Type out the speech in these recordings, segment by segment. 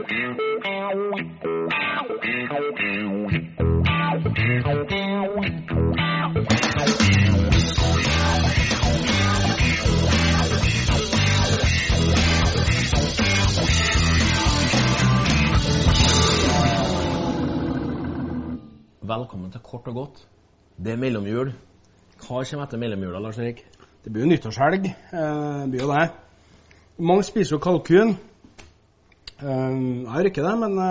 Velkommen til Kort og godt. Det mellomjul. Hva kommer etter mellomjula, Lars Erik? Det blir jo nyttårshelg. Det blir jo det. Mange spiser jo kalkun. Jeg gjør ikke det, men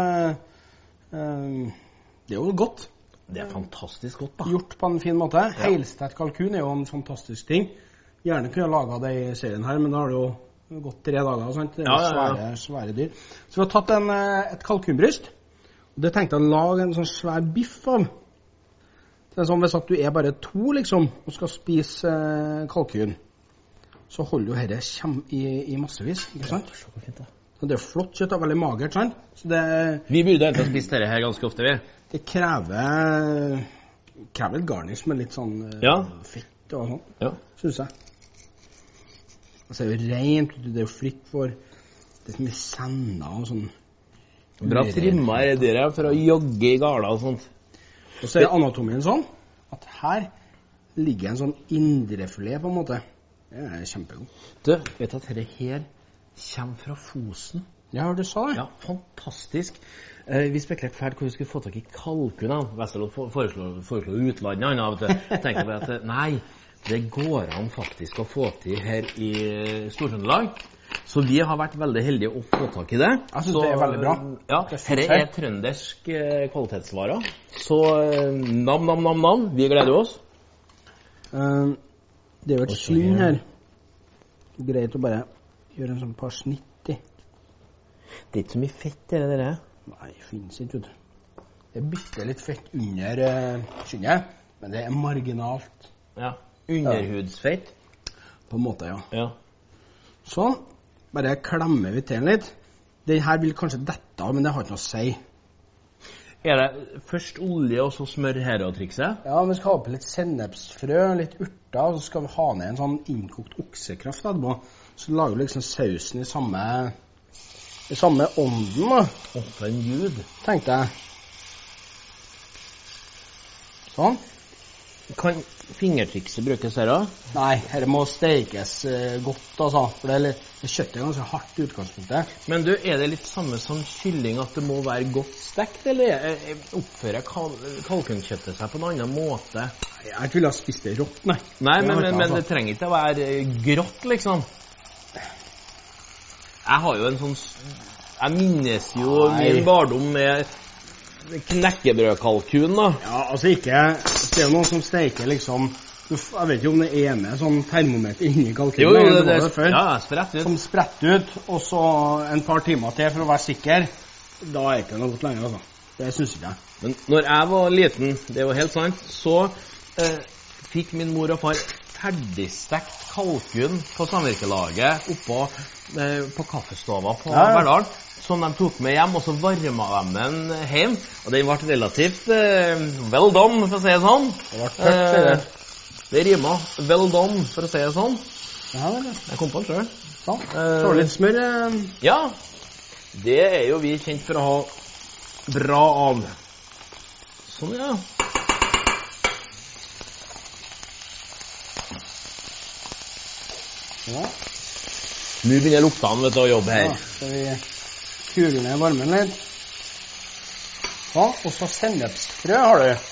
det er jo godt. Det fantastisk godt, da. Gjort på en fin måte. Ja. Helstekt kalkun er jo en fantastisk ting. Gjerne kunne jeg laget det i serien her, men da har det jo gått 3 dager, sant? Det er jo svære dyr. Så vi har tatt et kalkunbryst. Og det tenkte jeg å lage en sånn svær biff av. Det er sånn hvis at du er bare 2 liksom, og skal spise kalkun, så holder jo dette i massevis, ikke sant? Ja, så fint da. Det er flott kjøtt, det er veldig magert, sant? Så vi burde egentlig ha spist dette her ganske ofte, vi. Det krever et garnish med litt sånn fett og sånn, synes jeg. Altså, det er jo rent, det er jo fritt for det som er senna og sånn. Bra trimma er dere for å jogge i gala og sånt. Og så er anatomien sånn, at her ligger en sånn indrefilet på en måte. Det er kjempegod. Du, vet at dette her kommer fra Fosen? Ja, du sa det. Ja, fantastisk. Vi spekulerte fælt hvor vi skulle få tak i kalkun. Vesterlot foreslår utlandet. Jeg tenker bare at nei, det går an faktisk å få til her i Stor-Trøndelag. Så vi har vært veldig heldige å få tak i det. Jeg synes det er veldig bra. Ja, dette er trøndersk kvalitetsvarer. Så nam. Vi gleder oss. Det er jo et slinn her. Det er greit å bare gjøre en sånn par snitt i. Det er ikke så mye fett i det. Nei, det finnes ikke, vet du. Det er bitte litt fett under skinnet, men det er marginalt. Ja, underhudsfett. På en måte, ja. Sånn. Bare klemmer vi til litt. Den her vil kanskje dette av, men det har ikke noe å si. Er det først olje og så smør her og trikset? Ja, vi skal ha på litt sennepsfrø, litt urter, og så skal vi ha ned en sånn innkokt oksekraft etterpå. Så lager vi liksom sausen i samme ånden, da. For en gud. Tenkte jeg. Sånn. Kan fingertrikset brukes her da? Nei, her må stekes godt, altså. For det kjøttet er ganske hardt i utgangspunktet. Men du, er det litt samme som kylling at det må være godt stekt, eller oppfører kalkunkjøttet seg på en annen måte? Jeg vil ha spist det rått, nei. Nei, men det trenger ikke å være grått, liksom. Jeg har jo en sånn... Jeg minnes jo min barndom med knekkebrødkalkun, da. Ja, altså ikke... Det er jo noen som steker liksom... Jeg vet ikke om det er med sånn termometer inni kalkunen. Jo, det sprett ut. Som sprett ut, og så en par timer til for å være sikker. Da er ikke noe godt lenger, altså. Det synes ikke jeg. Men når jeg var liten, det er jo helt sant, så fikk min mor og far ferdigstekt kalkun på samvirkelaget oppå på kaffestova på Verdal, som de tok med hjem, og så varmet de den hjem, og den ble relativt well done, for å si det sånn. Det ble tørt, det rimer well done, for å si det sånn. Ja, det. Jeg kom på den selv. Sånn, så litt smør. Ja, det er jo vi kjent for å ha bra av. Sånn, ja. Ja. Nå begynner luktene, vet du, å jobbe her. Ja, så vi kuler ned varmen litt. Ja, og så sennepsfrø har du.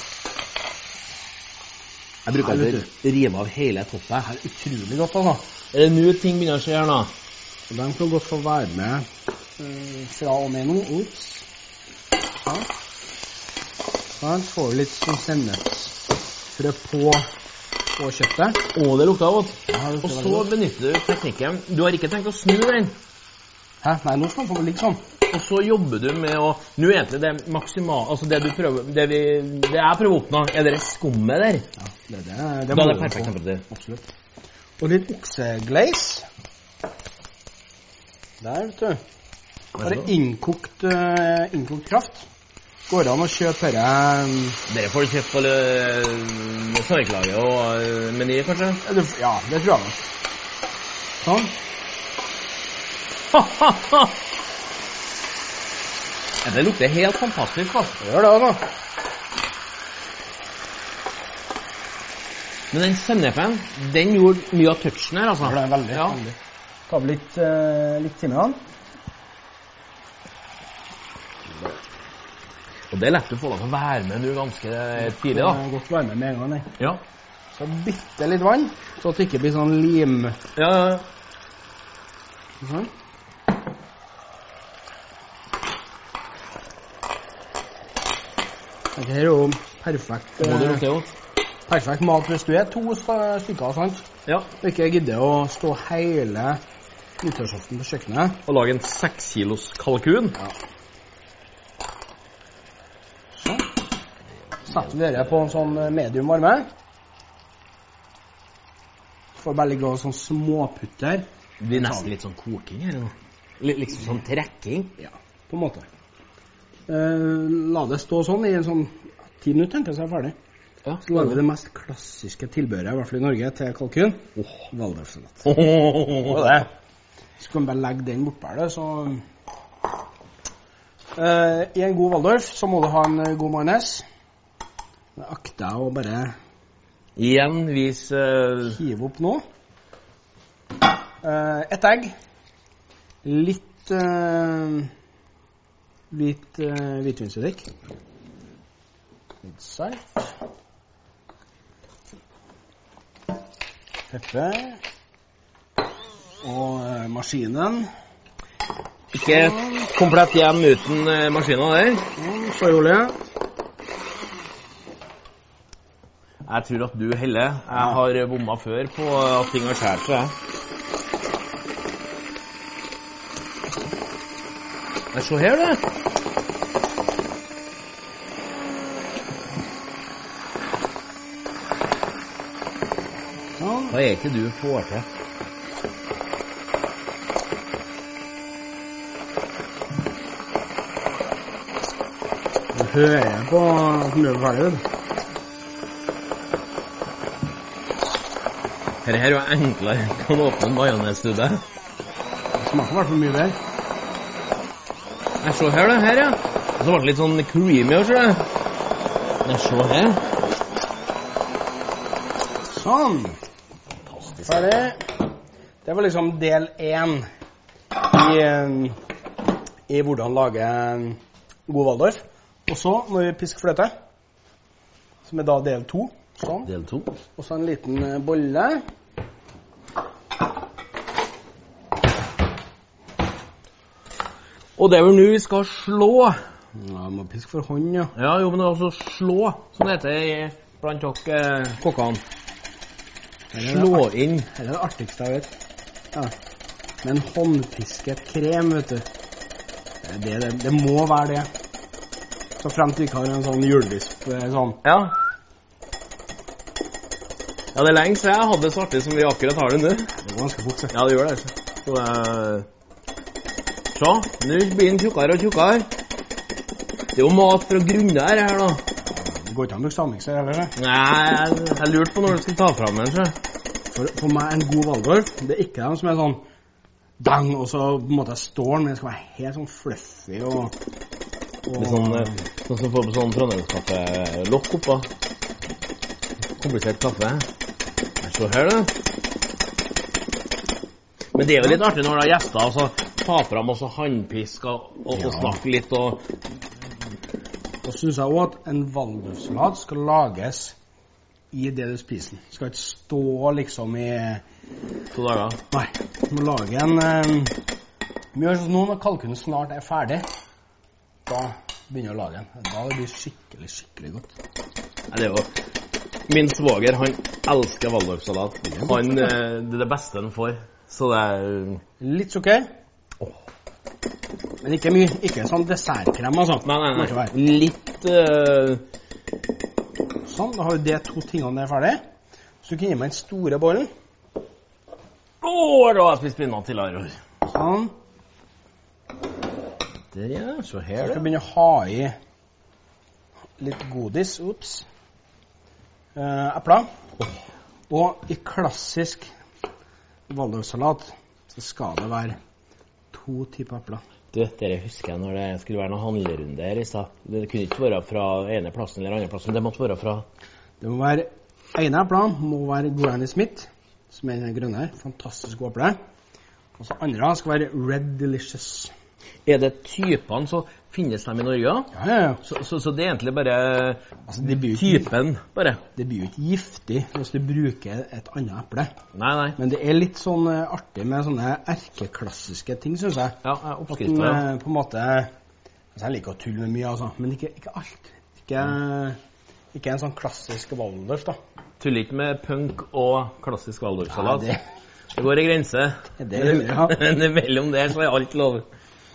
Jeg bruker alltid rive av hele toppet. Det er utrolig godt, altså. Er det nå ting begynner å skje her nå? Så den kan godt få være med fra og med nå. Ups. Ja. Da får vi litt sånn sennepsfrø på kjøttet. Det lukter godt. Ja, og så benytter du teknikken. Du har ikke tenkt å snu den? Hæ? Nei, nå skal den få litt sånn. Og så jobber du med å... Nå er det maksimalt... Altså det du prøver... Det jeg prøver å oppnå, er det skummet der? Ja, det da er det perfekt temperatur. Absolutt. Og litt oksegleis. Der, vet du. Bare innkokt kraft. Går det an å kjøpe dette... Dere får kjøpt på samvirkelaget og Meny, kanskje? Ja, det tror jeg. Sånn. Ja, det lukter helt fantastisk, altså. Det gjør det, altså. Men den sennepen, den gjorde mye av touchen her, altså. Det er veldig, veldig. Ta litt timjan. Og det er lett å få deg til å være med nå ganske tidlig, da. Det er godt å være med en gang, nei. Ja. Så bitte litt vann, så at det ikke blir sånn lim. Ja. Sånn. Dette her er jo perfekt. Må du lukte godt? Perfekt mat hvis du er 2 stykker, sant? Ja. Og ikke gidder å stå hele nyttårsaften på kjøkkenet. Og lage en 6 kilos kalkun. Ja. Så. Setter vi dere på en sånn medium varme. Får bare ligge og sånn småputter. Det blir nesten litt sånn koking her nå. Liksom sånn trekking. Ja, på en måte. La det stå sånn i en sånn 10 minutter, tenker jeg, så er jeg ferdig. Ja, så lager vi det mest klassiske tilbehøret, i hvert fall i Norge, til kalkun. Waldorfsalat. Det. Så kan vi bare legge den bort der, så... I en god Waldorf så må du ha en god majones. Det akter jeg å bare... Igjen vis... Hive opp nå. Et egg. Litt hvitvinseddik. Litt salt. Pepper. Og maskinen. Ikke komplett hjem uten maskinen der. Soyaolje. Jeg tror at du heller. Jeg har bommet før på at ting har skjært seg. Se her, det. Hva er ikke du får til? Du hører på at den er ferdig. Dette her er jo enklere enn å åpne en majonesstube. Det smaker i hvert fall mye der. Jeg ser her, det her, ja. Og så ble det litt sånn creamy også, det. Jeg ser her. Sånn. Ferdig. Det var liksom del 1 i hvordan lage en god Waldorf. Og så må vi piske fløte, som er da del 2. Sånn. Del 2. Og så en liten bolle. Og det er vel nå vi skal slå. Ja, må piske for hånd, ja. Ja, jo, men det er også slå, som det heter blant dere kokkene. Slå inn. Her er det artigste jeg vet. Ja. Med en håndpisket krem, vet du. Det må være det. Så frem til vi ikke har en sånn julevisp, sånn. Ja. Ja, det er lenge siden jeg hadde det så artig som vi akkurat har det nå. Det går ganske fort, så. Ja, det gjør det. Så det er... Så, nå blir den tjukkere og tjukkere. Det er jo mat fra grunner her da. Det går ikke an å bruke stavmikser heller, det. Nei, jeg lurte på når du skal ta frem den, tror jeg. For meg en god Waldorf, det er ikke den som er sånn dang, og så på en måte står den, men det skal være helt sånn fluffy og det er sånn som får på sånn Trondheimskaffe-lokk oppå. Komplisert kaffe. Jeg ser her, da. Men det er jo litt artig når det er gjester, og så ta frem også håndpisk og snakke litt. Og synes jeg også at en Waldorfsalat skal lages i det du spiser. Det skal ikke stå liksom i 2 dager. Nei, du må lage en... Vi gjør sånn nå når kalkunen snart er ferdig. Da begynner jeg å lage den. Da det blir skikkelig, skikkelig godt. Nei, det er jo... Min svoger, han elsker Waldorfsalat. Det er det beste han får. Så det er... Litt sukker. Men ikke mye. Ikke sånn dessertkrem, altså. Nei. Litt... Sånn, da har vi de 2 tingene der ferdig. Så du kan gi meg en store bollen. Da har jeg spist spinat til her. Sånn. Der, ja. Så her, så skal vi begynne å ha i litt godis. Ups. Epler. Og i klassisk Waldorfsalat så skal det være 2 typer epler. Du, dere husker jeg når det skulle være noen handlerunde her i stad. Det kunne ikke være fra ene plassen eller andre plassen, det måtte være fra... Det må være, ene epler må være Granny Smith, som den grønne her, fantastisk god eple. Og så andre skal være Red Delicious. Det typene, så finnes de i Norge? Ja. Så det egentlig bare altså, typen, bare? Det blir jo ikke giftig hvis du bruker et annet eple. Nei. Men det litt sånn artig med sånne erkeklassiske ting, synes jeg. Ja, oppskrifter, ja. På en måte, altså jeg liker å tulle med mye, altså, men ikke alt. Ikke en sånn klassisk Waldorf, da. Tuller ikke med punk og klassisk Waldorf-salat. Ja, det går i grense. Men mellom der så alt lov.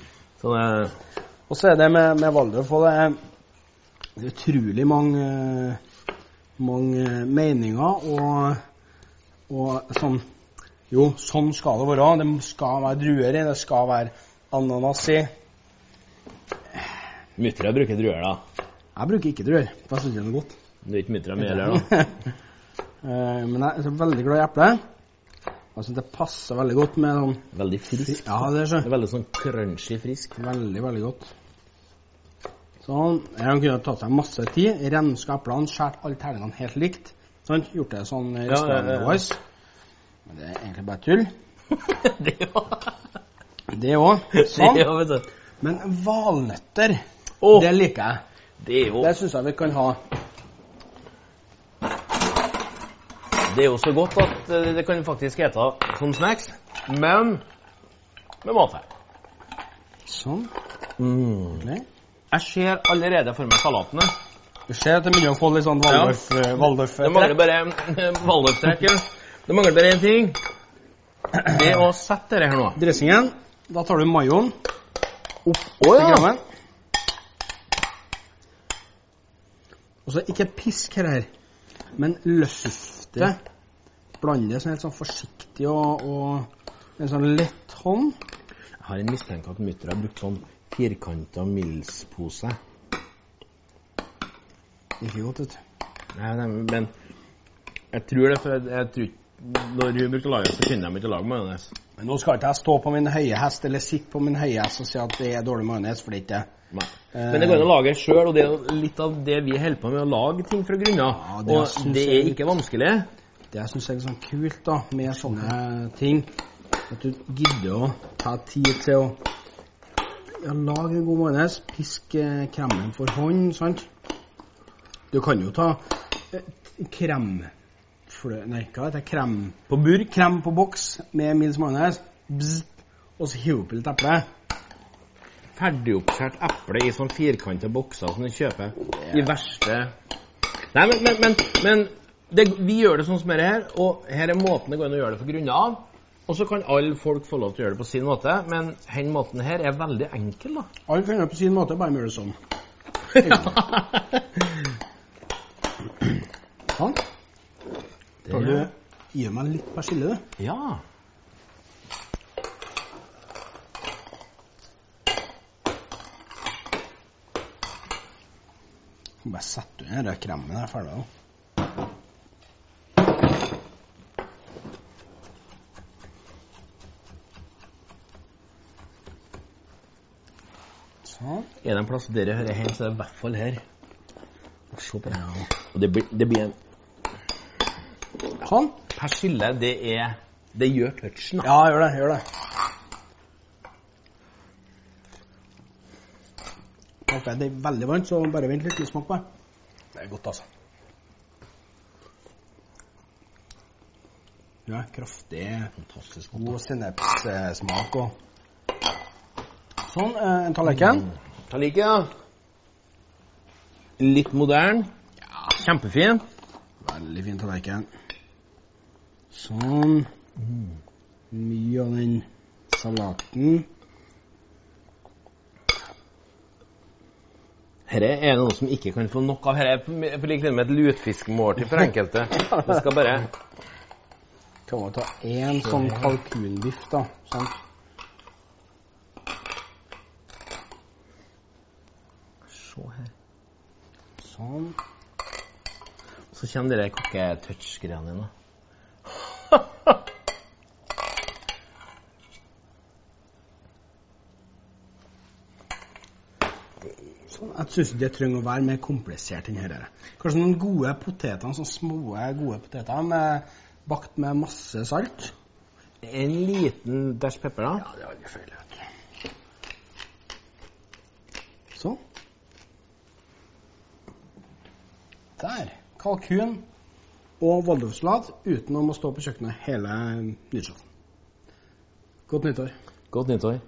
Og så det med Waldorf, og det utrolig mange meninger, og sånn, jo, sånn skal det være. Det skal være druer i, det skal være ananas i. Muttera bruker druer, da? Jeg bruker ikke druer, for jeg synes det er noe godt. Det er ikke muttera med heller, da? Men jeg er veldig glad i eple. Jeg synes det passer veldig godt med sånn... Veldig frisk. Ja, det er så. Det er veldig sånn crunchy frisk. Veldig, veldig godt. Sånn, jeg kunne tatt seg masse tid, renska eplene, skjært alle terningene helt likt. Sånn, gjort det sånn restaurant-wise. Men det er egentlig bare tull. Det også. Sånn. Det også, vet du. Men valnøtter, det liker jeg. Det synes jeg vi kan ha. Det er jo så godt at det kan faktisk hete som snacks, men med mat her. Sånn. Okay. Jeg ser allerede for meg salatene. Du ser at det er mye å få litt sånn Waldorf. Det mangler bare Waldorf-trekk. Det mangler bare en ting. Det er å sette det her nå. Dressingen, da tar du majoen opp til grammen. Og så ikke pisk her, men løfte. Blande sånn helt sånn forsiktig og med en sånn lett hånd. Jeg har en mistenke at mutter har brukt sånn firkantet Mills-pose. Ikke godt, vet du. Nei, men jeg tror det, for jeg tror ikke, når hun brukte laget, så kunne de ikke lage majones. Men nå skal ikke jeg stå på min høye hest, eller sitte på min høye hest og si at det er dårlig majones, for det ikke er. Nei. Men det går an å lage selv, og det er litt av det vi holder på med, å lage ting fra grunner. Ja, og det er ikke vanskelig. Det jeg synes er sånn kult da, med sånne ting, at du gidder å ta tid til å lage en god majones, piske kremen for hånd, sant? Du kan jo ta krem på burk, krem på boks med Mills majones, og så hive opp litt eple. Ferdigoppskjært eple i sånn firkantede bokser som du kjøper i verste... Nei, men vi gjør det sånn som det her, og her er måten det går an å gjøre det for grunner av, og så kan alle folk få lov til å gjøre det på sin måte, men denne måten her er veldig enkel, da. Alle kan gjøre det på sin måte, bare gjør det sånn. Sånn. Tar du gir meg litt persille, du? Ja. Bare sette under den kremen her ferdig da. Sånn. Er det en plass dere hører hjemme, så er det i hvert fall her. Se på det. Ja. Og det blir en... Sånn. Persille, det gjør touchen, da. Ja, gjør det. Det er veldig varmt, så bare vent litt smak på det. Det er godt, altså. Ja, kraftig, fantastisk god sennepssmak og... Sånn, en tallerken. Tallerken, ja. Litt modern. Ja. Kjempefin. Veldig fin tallerken. Sånn. Mye av den salaten. Her er noe som ikke kan få nok av. Her er for like med et lutfiskmåltid for enkelte. Det skal bare... Kan man ta en sånn kalkunbiff da, sant? Se her. Sånn. Så kommer dere kokke-touch-greiene dine. Jeg synes ikke det trenger å være mer komplisert enn dette. Kanskje noen gode poteter, sånne små gode poteter, bakt med masse salt. En liten dash pepper da? Ja, det er aldri feil. Sånn. Der. Kalkun og waldorfsalat uten å må stå på kjøkkenet hele nyttårsaften. Godt nyttår. Godt nyttår.